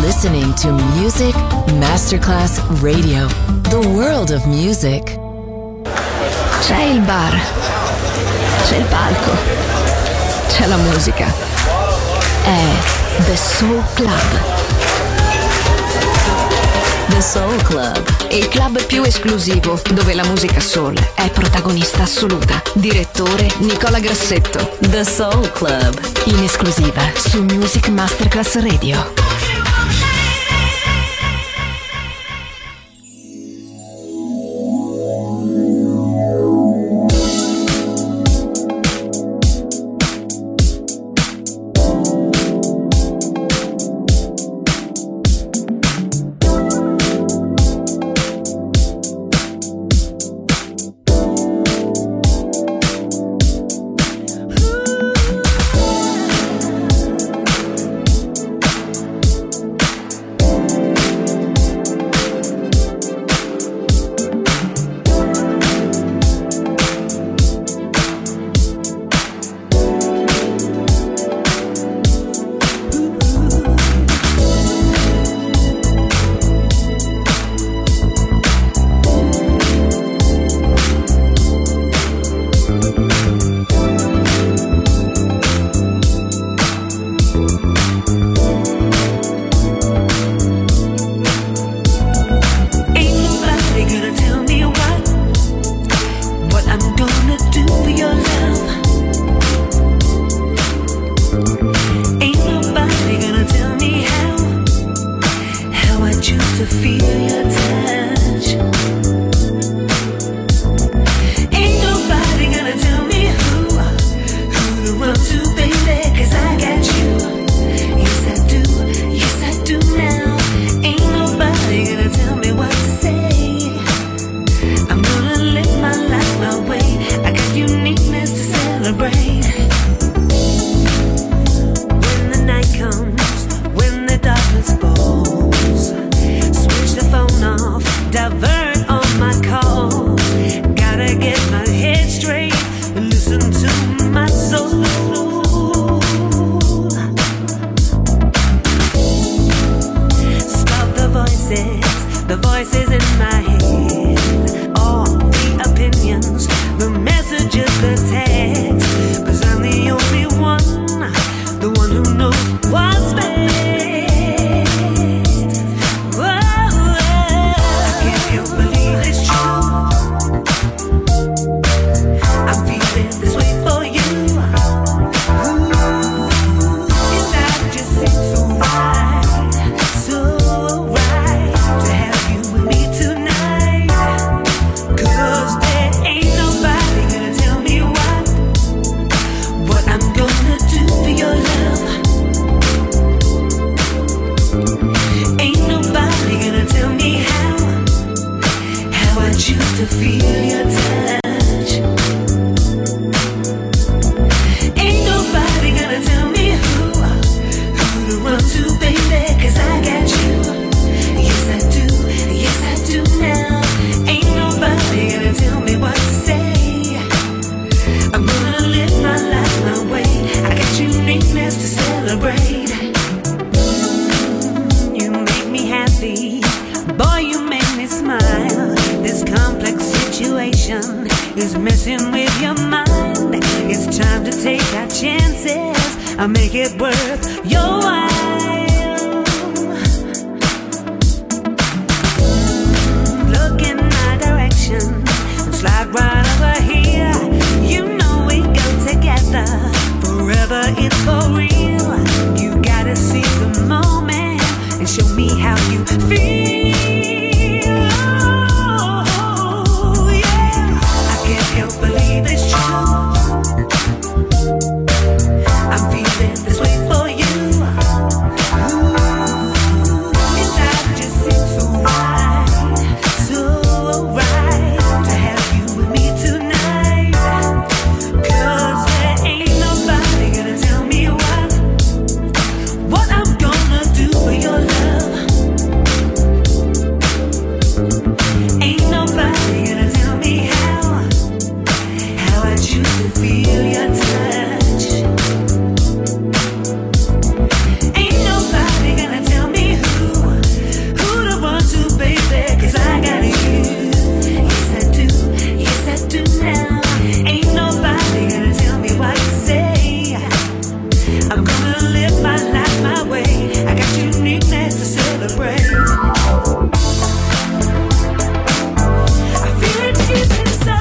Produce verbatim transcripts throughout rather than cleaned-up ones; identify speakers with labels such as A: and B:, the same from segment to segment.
A: listening to Music Masterclass Radio, the world of music.
B: C'è il bar, c'è il palco, c'è la musica. È The Soul Club.
A: The Soul Club,
B: il club più esclusivo dove la musica soul è protagonista assoluta. Direttore Nicola Grassetto.
A: The Soul Club,
B: in esclusiva su Music Masterclass Radio.
C: I'm feeling this way for you. my life my way. I got uniqueness to celebrate. I feel it deep inside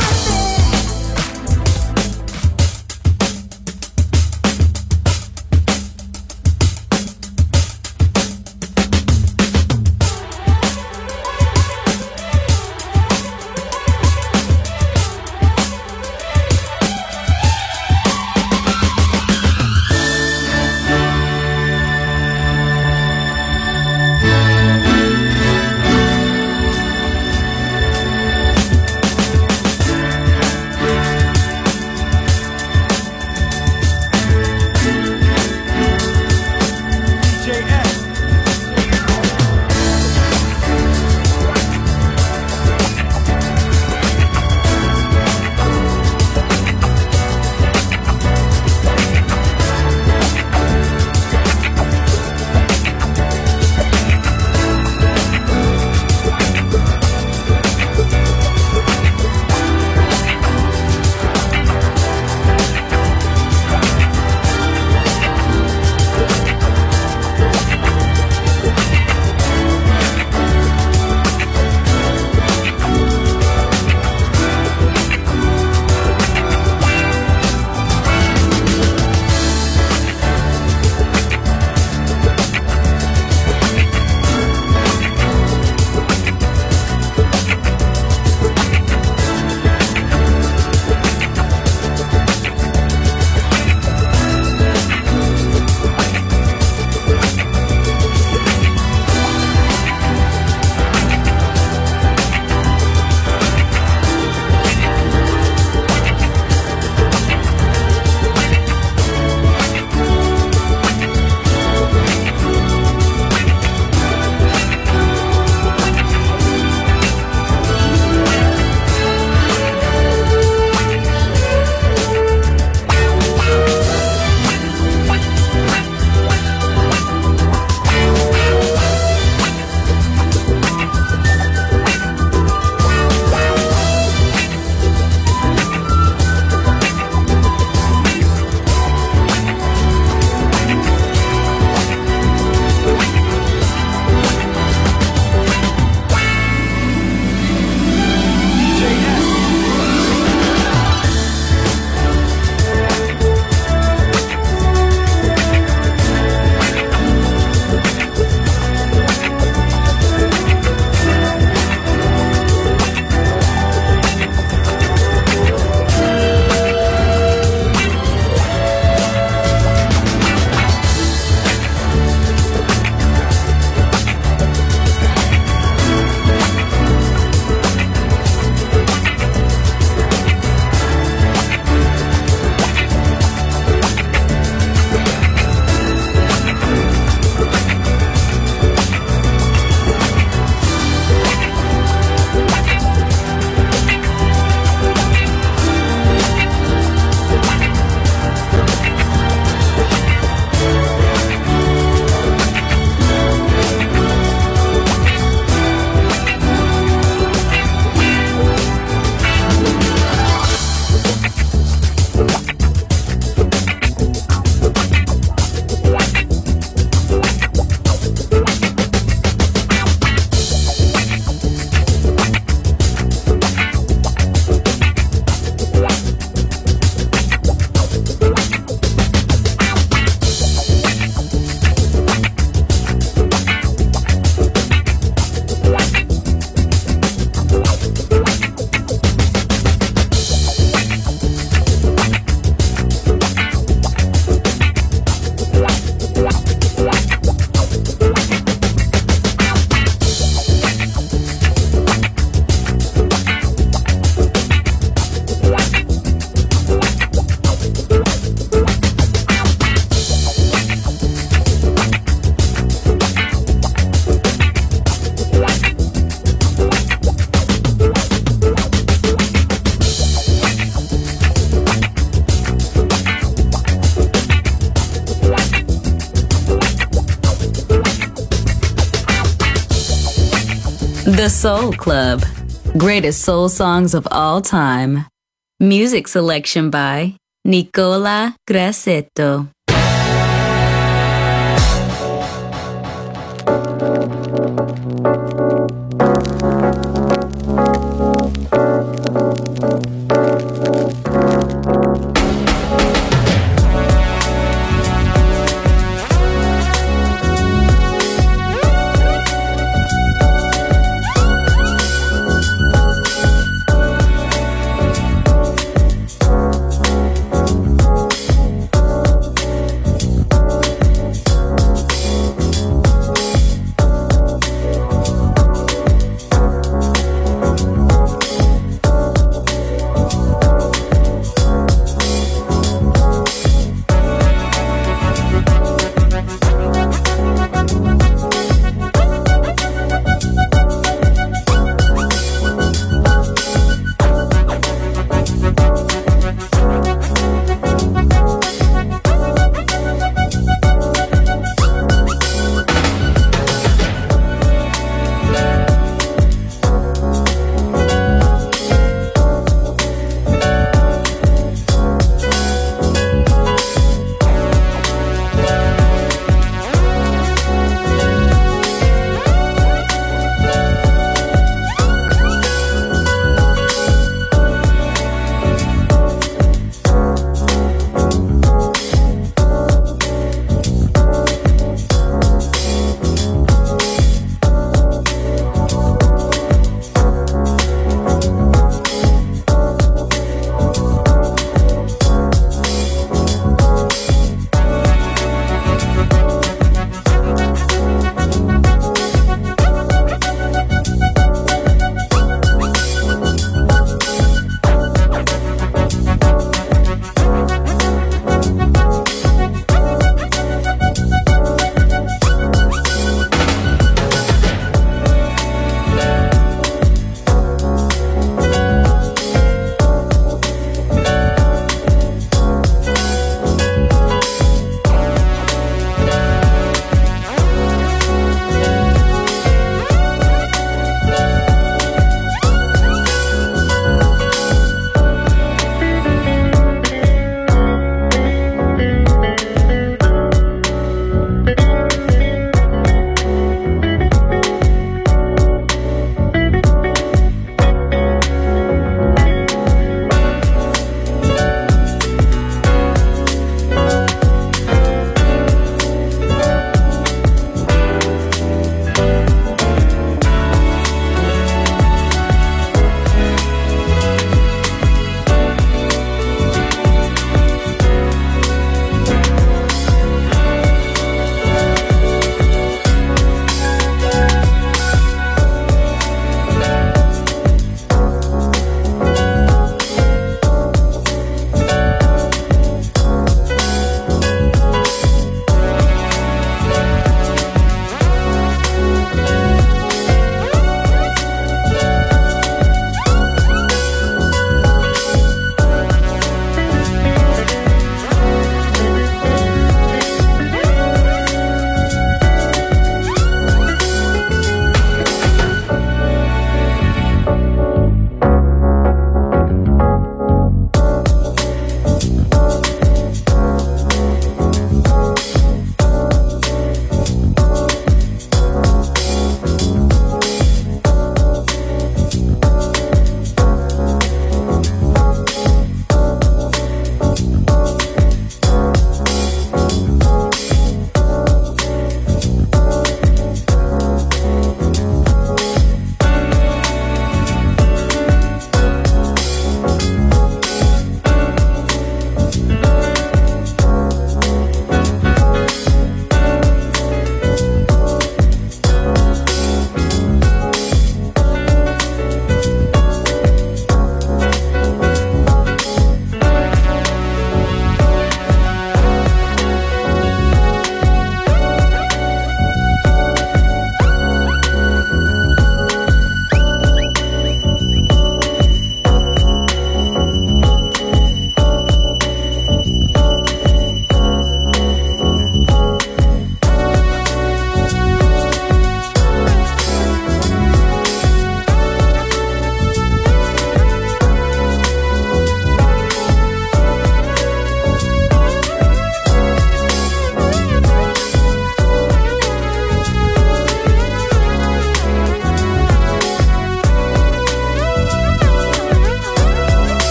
D: The Soul Club. Greatest soul songs of all time. Music selection by Nicola Grassetto.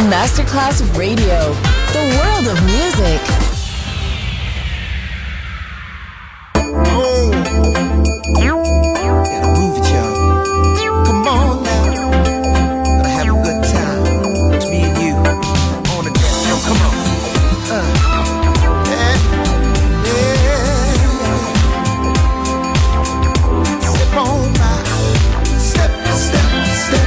A: Masterclass Radio, the world of music.
E: Oh, gotta move it, y'all. Come on now, gonna have a good time. It's me and you on the dance floor. Come on, uh, yeah, yeah. Step on by, step, step, step.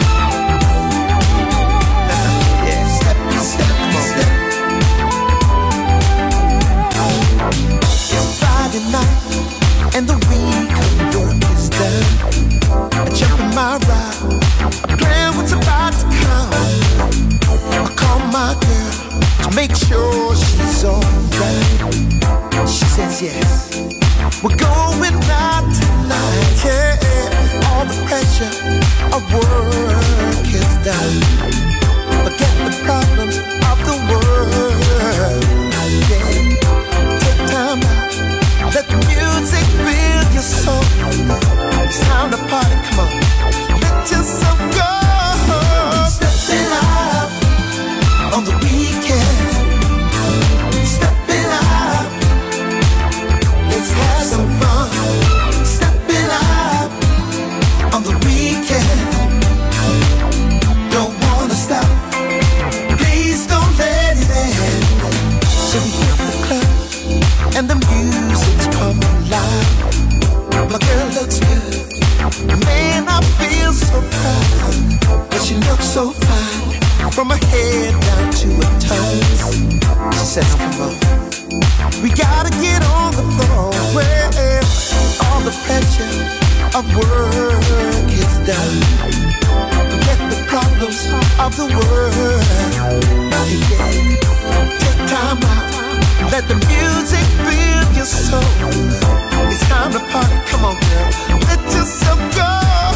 E: Night and the week of work is done. I jump in my ride, I plan what's about to come. I call my girl to make sure she's alright. She says yes, we're going out tonight. Yeah, all the pressure of work is done. Forget the problems of the world. Yeah, take time out. Let the music build your soul. It's time to party, come on. Let yourself go. Stepping up on the weekend. Stepping up. Let's have some fun. Stepping up on the weekend. Don't wanna stop. Please don't let it end. So we hit the club and the music's coming live. My girl looks good, man, I feel so proud. But she looks so fine, from her head down to her toes. She says, come on, we gotta get on the floor, where all the pressure of work is done. Forget the problems of the world. Yeah. Take time out, let the music build your soul. It's time to party, come on girl, let yourself go.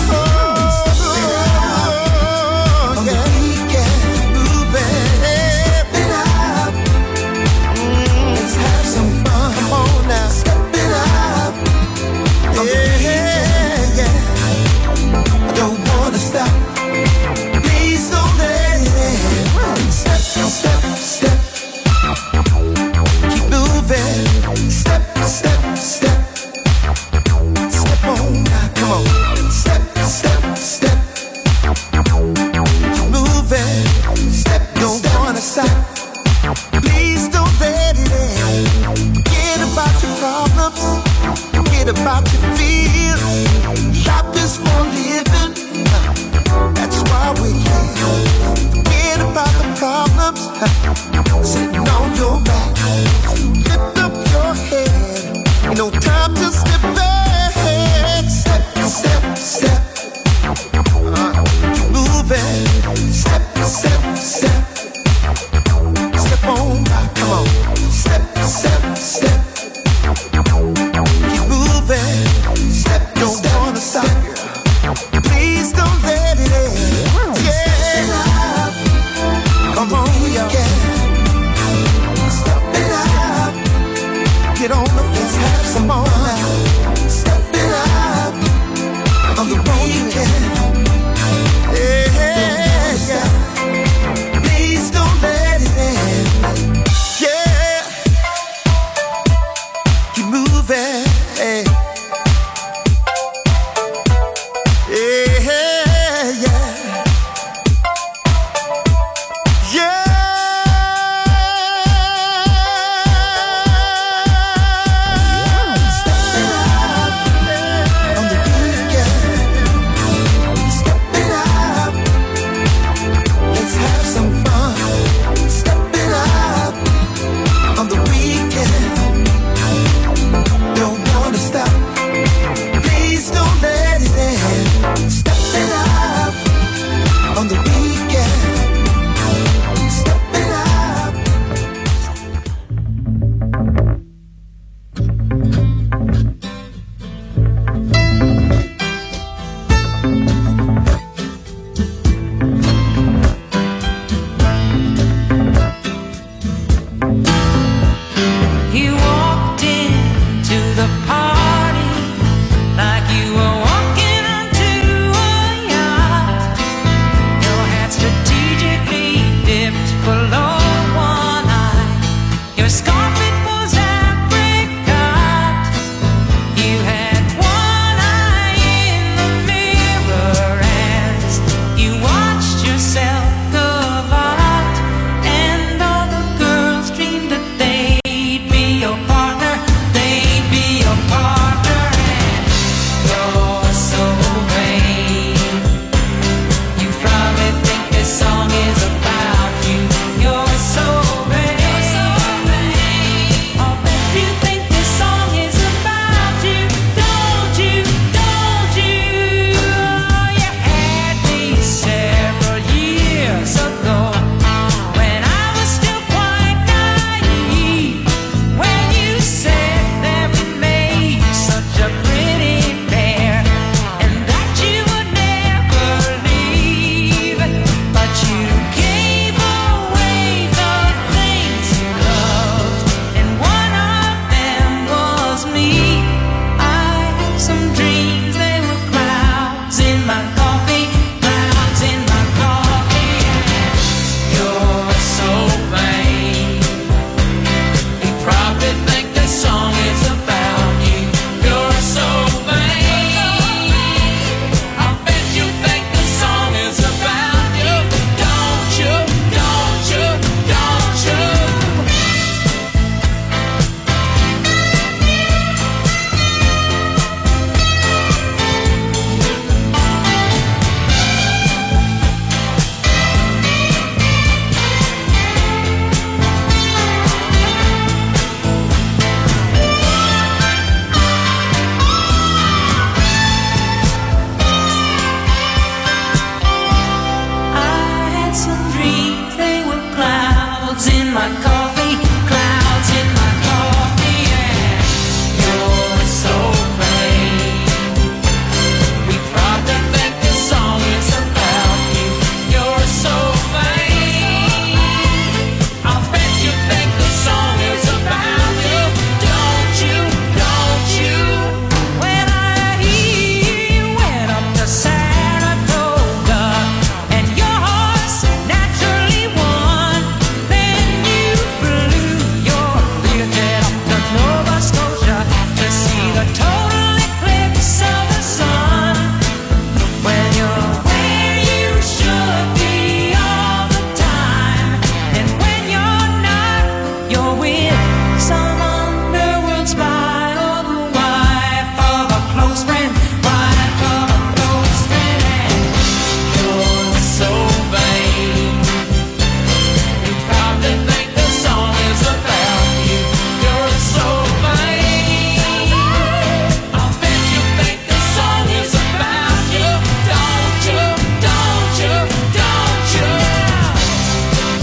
E: On the weekend, moving it up. Mm, let's have some fun, come on now. Step it up. Yeah, yeah. I don't wanna stop. Please don't let it end. Step, step, step. Step, step, step. Step on now, come on. Step, step, step. Keep moving. Step, don't wanna stop. Please don't let it end. Forget about your problems. Forget about your fears. Life is for living. That's why we're here. Forget about the problems. Sitting on your back. Lift up your head. Ain't no time to step back. Step, step, step. Uh, keep moving. Step, step, step. Step on by, come on. Step, step, step. Keep moving. Step, don't wanna stop. Please don't let it end. Yeah. Come on, yeah. Stop it up. Get on the floor, have some more now.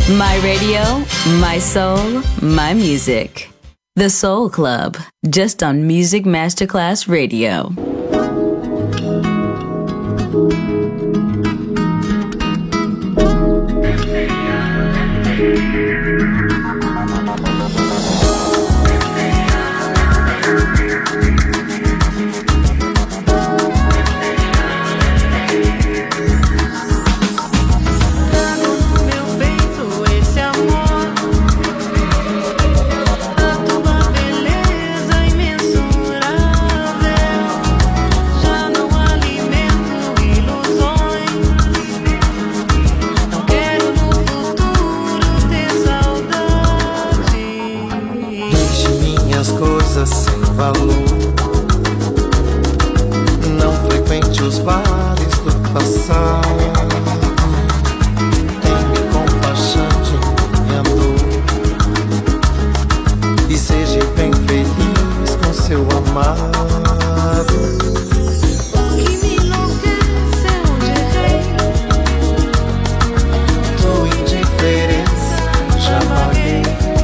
D: My radio, my soul, my music. The Soul Club, just on Music Masterclass Radio.
E: Sem valor, não frequente os bares do passado. Tenha compaixão de minha dor e seja bem feliz com seu amado.
C: O que me enlouquece é onde errei.
E: Tua indiferença já paguei.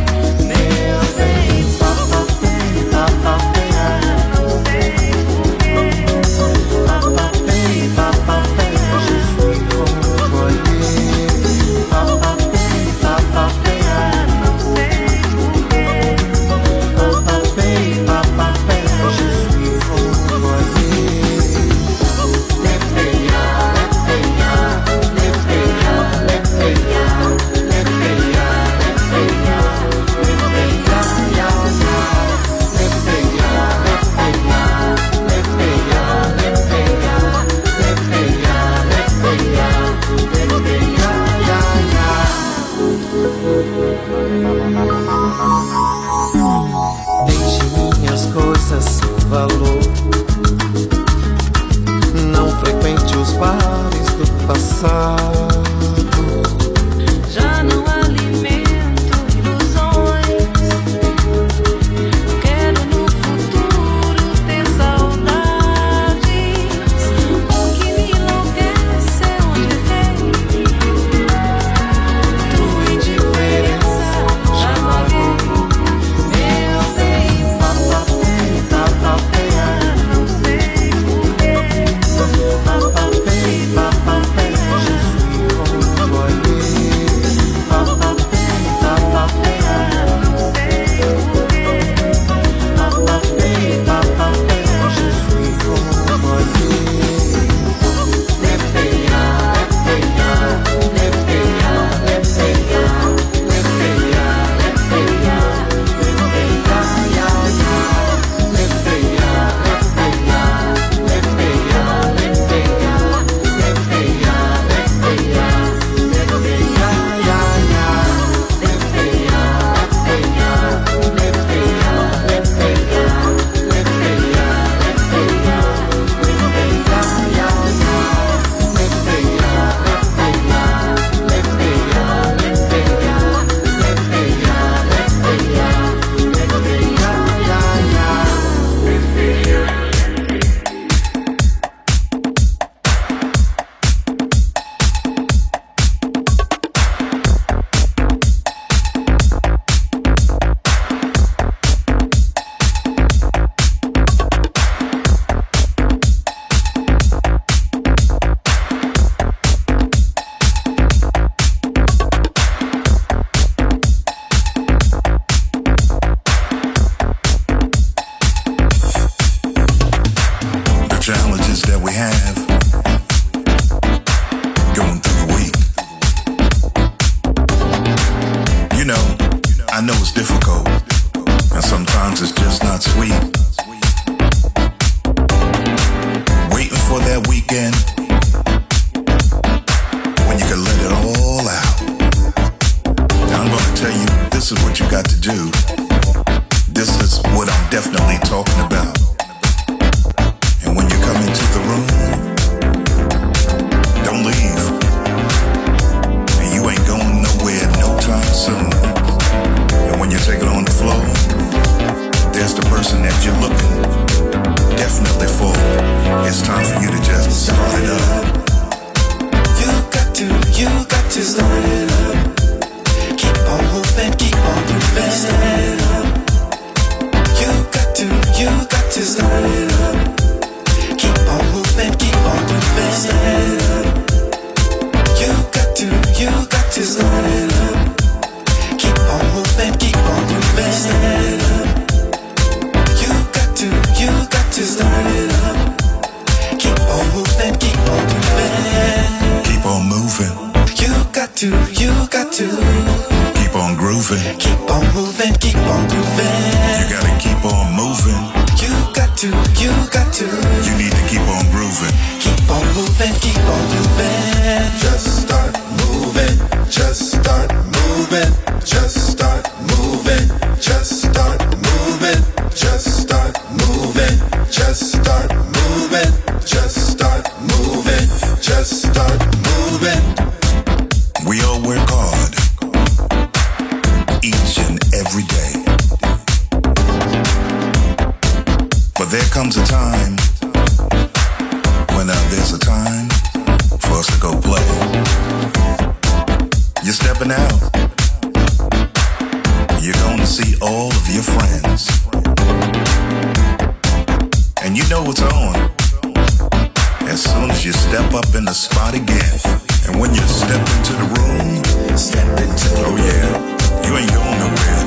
E: Deixe minhas coisas sem valor, não frequente os bares do passado.
C: Já não alimento ilusões. Eu quero no futuro ter saudades. O que me enlouquece é onde errei. Tua indiferença já paguei. Meu bem, papapei, papapei, não sei porquê. Papapei, papapei,
E: Je suis renvoyé. Papapei, papapei,
C: não sei porquê.
E: papapei, papapei, je suis renvoyé. Lepeia, lepeia, lepeia, lepeia, lepeia, lepeia, lepeia, ya, ya. Lepeia, lepeia, lepeia, lepeia, lepeia, lepeia, lepeia, ya, ya. Lepeia, lepeia, lepeia, lepeia, lepeia, lepeia, lepeia, ya, ya. Lepeia, lepeia, lepeia, lepeia, lepeia, lepeia, lepeia, ya, ya.
F: The challenges that we have going through the week. You know, I know it's difficult, and sometimes it's just not sweet. Waiting for that weekend when you can let it all out. Now I'm gonna tell you, this is what you got to do. This is what I'm definitely talking about. And when you come into the room,
E: up. Keep on moving, keep on moving. Start it up. You got to, you got to start it up. Keep on moving, keep on moving. Start it up. You got to, you got to start it up. Keep on moving, keep on moving.
F: Keep on moving.
E: You got to, you got to
F: keep on grooving.
E: Keep on moving, keep on grooving.
F: You gotta keep on moving.
E: You got to, you got to
F: You need to keep on grooving.
E: keep on moving, keep on moving.
F: Just start moving. Just start moving. Just start moving. Just start moving. Just start moving. Just start moving. Just start moving. Just start moving. We all work hard each and every day. But there comes a time when uh, there's a time for us to go play. You're stepping out. You're going to see all of your friends. And you know what's on as soon as you step up in the spot again. And when you step into the room,
E: Step into the
F: oh yeah, you ain't going nowhere.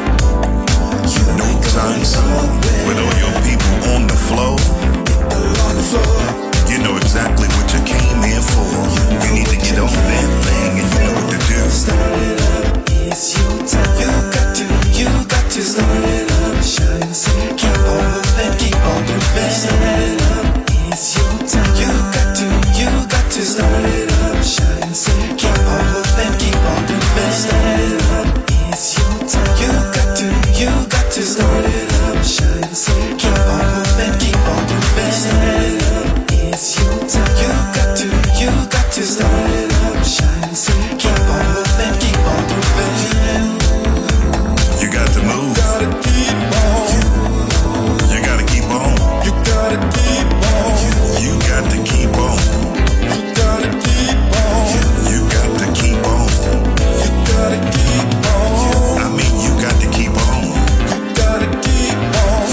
E: you
F: No
E: ain't
F: time
E: going
F: soon.
E: nowhere.
F: With all your people on the floor,
E: On the floor.
F: you know exactly what you came here for. You need to get on that thing and you know what to do.
E: Start it up, it's your time. You got to, you got to start it up. Shine so keep on moving, keep on moving. Start it up, it's your time. You got to, you got to start it up. Shine so keep on moving, keep on moving. Start it up, it's your time. You got to, you got to start it up. Shine so keep on moving, keep on moving. Start it up, it's your time. You got to, you got to start it up. Shine so keep on moving, keep on moving.
F: You got to move.
E: Gotta keep on.
F: You gotta keep on.
E: You gotta keep on.
F: You got to keep on.
E: You gotta keep on.
F: You got to keep on.
E: You gotta keep on.
F: I mean, you got to keep on.
E: You gotta keep on.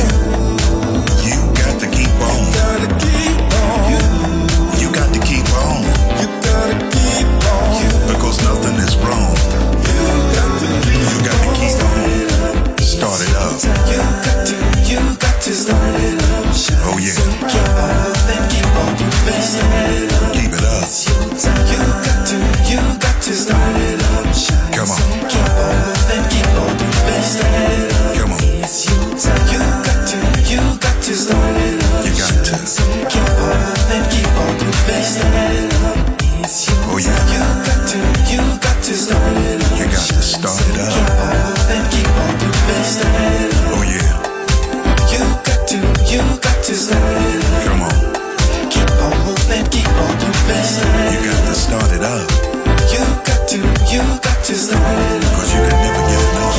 F: You got to keep on.
E: Gotta keep on.
F: You got to keep on.
E: You gotta keep on.
F: Because nothing is wrong.
E: You got to
F: You got to keep on. Start it up.
E: You got to, you got to start it up.
F: Oh yeah.
E: Keep on moving, keep on moving. Start it up.
F: Keep it up.
E: You got to, you got to start it up. Shine
F: Come on.
E: so keep on moving, keep on moving. Start it up.
F: Come on.
E: It's your time. You got to, you got to start it up.
F: You got to.
E: Keep on moving, keep on moving. Start it up. It's your
F: Oh yeah.
E: time. You got to, you got to start it up.
F: You got to start it
E: Keep
F: up.
E: on moving, keep on moving. Start it up.
F: Oh yeah.
E: You got to, you got to start it up.
F: Come on.
E: Keep on moving, keep on moving. Start
F: You
E: it
F: got to start it up.
E: up. You got to, you got to start it up.
F: Cause you can never get enough.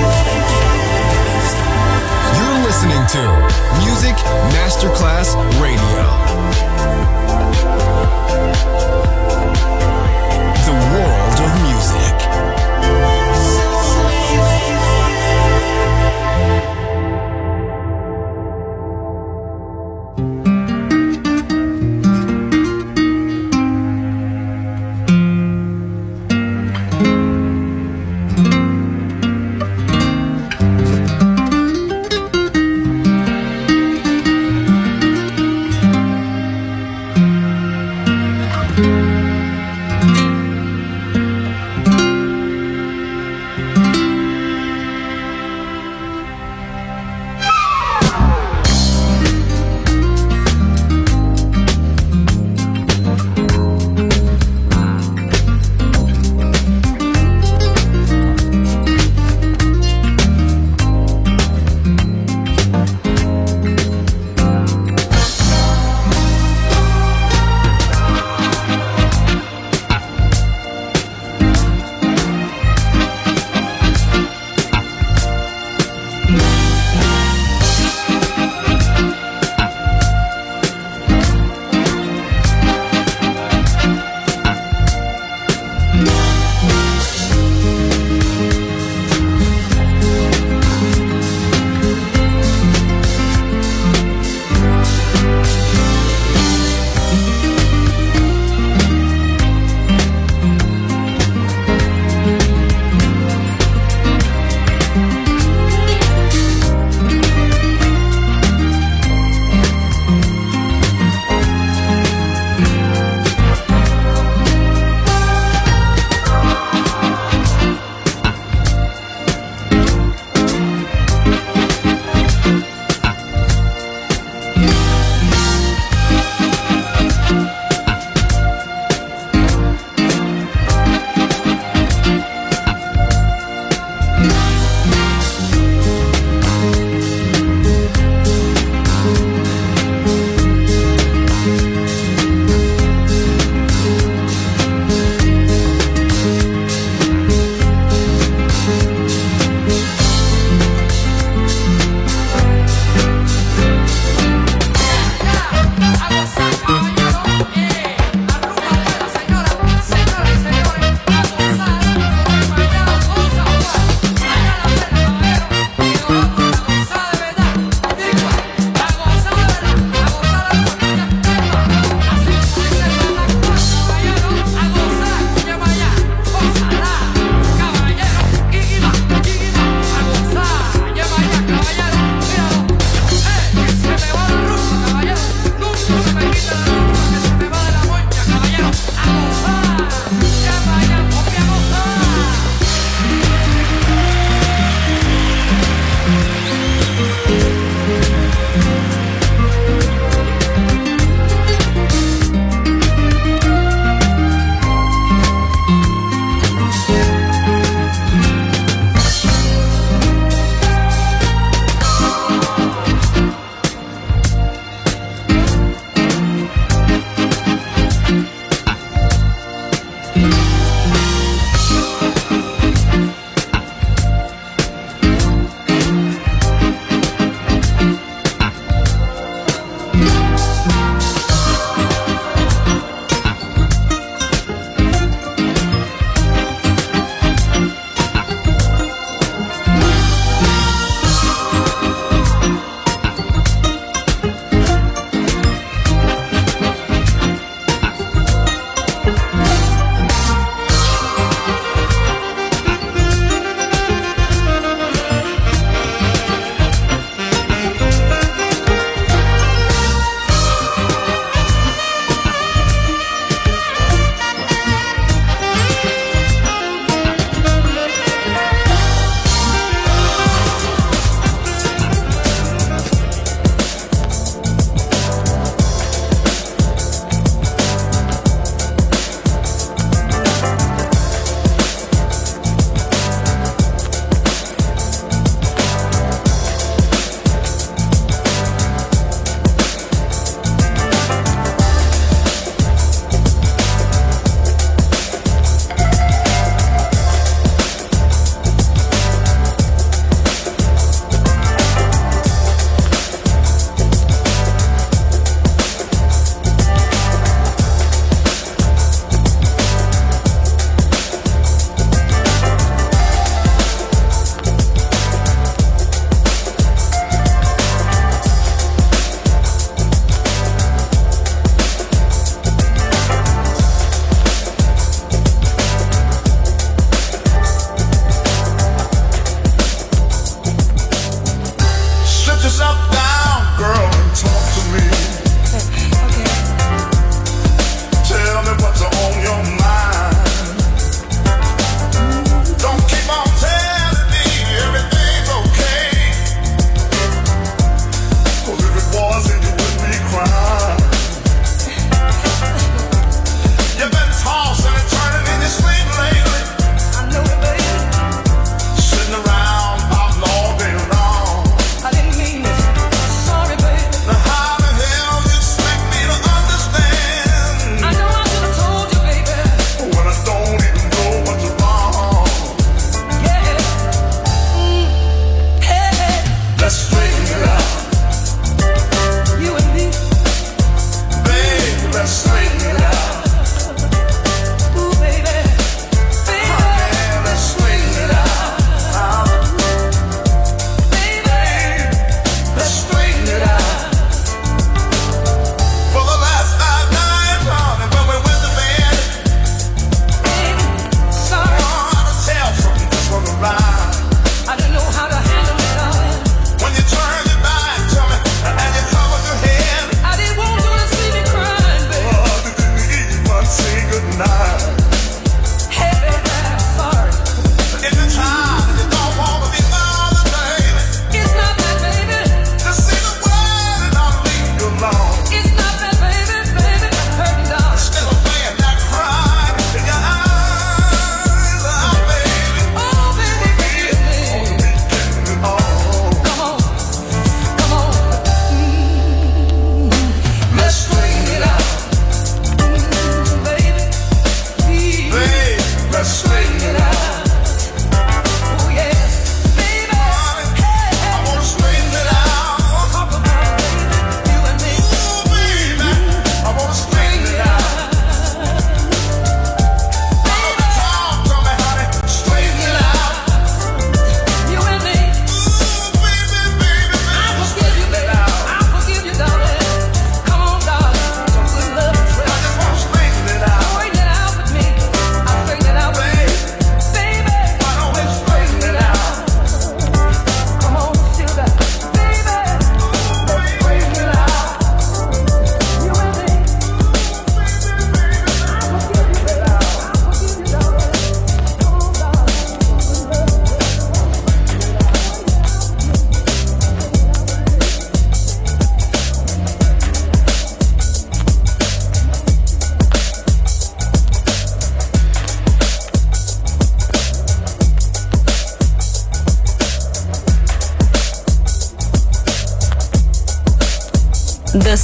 G: You're listening to Music Masterclass Radio. The world of music.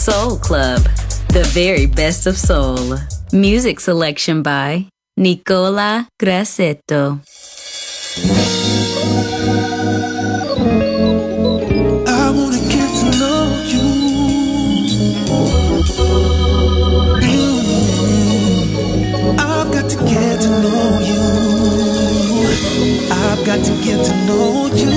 D: Soul Club, the very best of soul. Music selection by Nicola Grassetto.
E: I wanna get to know you. Mm. I've got to get to know you. I've got to get to know you.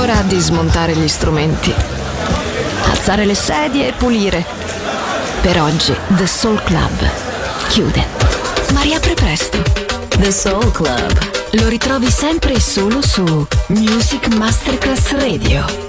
B: ora di smontare gli strumenti, alzare le sedie e pulire. Per oggi The Soul Club chiude, ma riapre presto.
D: The Soul Club.
B: Lo ritrovi sempre e solo su Music Masterclass Radio.